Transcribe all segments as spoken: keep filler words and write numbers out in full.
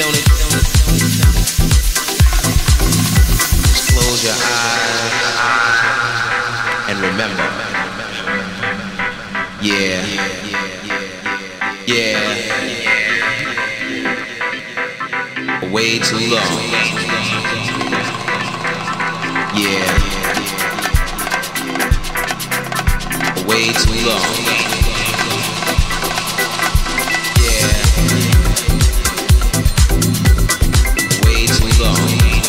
Don't it, don't it, don't it, don't it. Just close your eyes and remember. Yeah, yeah, way too long. Yeah, way too long. Yeah, way too long.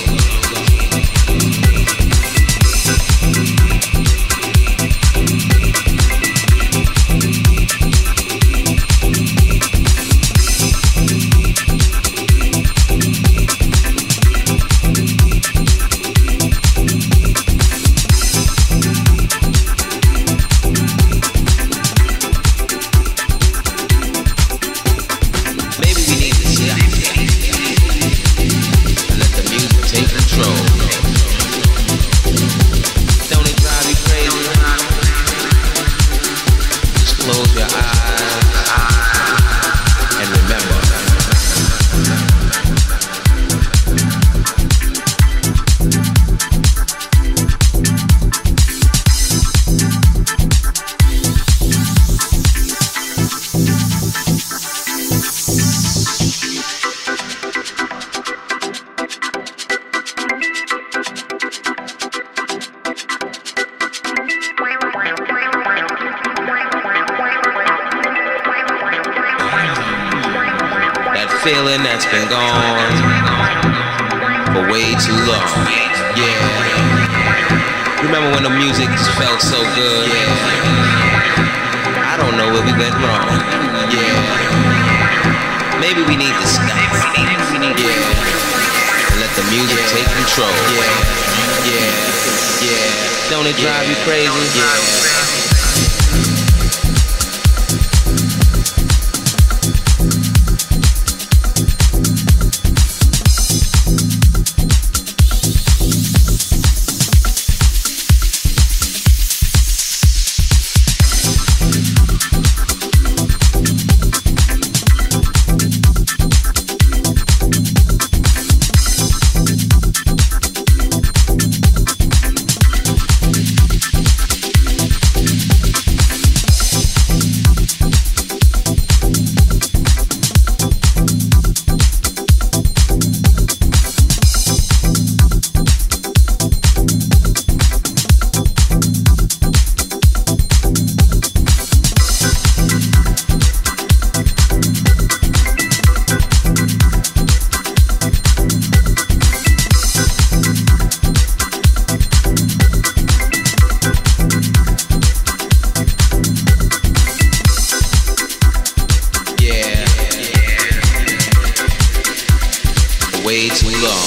Feeling that's been gone for way too long. Yeah. Remember when the music just felt so good? Yeah. I don't know where we went wrong. Yeah. Maybe we need to stop. Yeah. And let the music take control. Yeah. Yeah. Yeah. Don't it drive you crazy? Yeah. Way too long.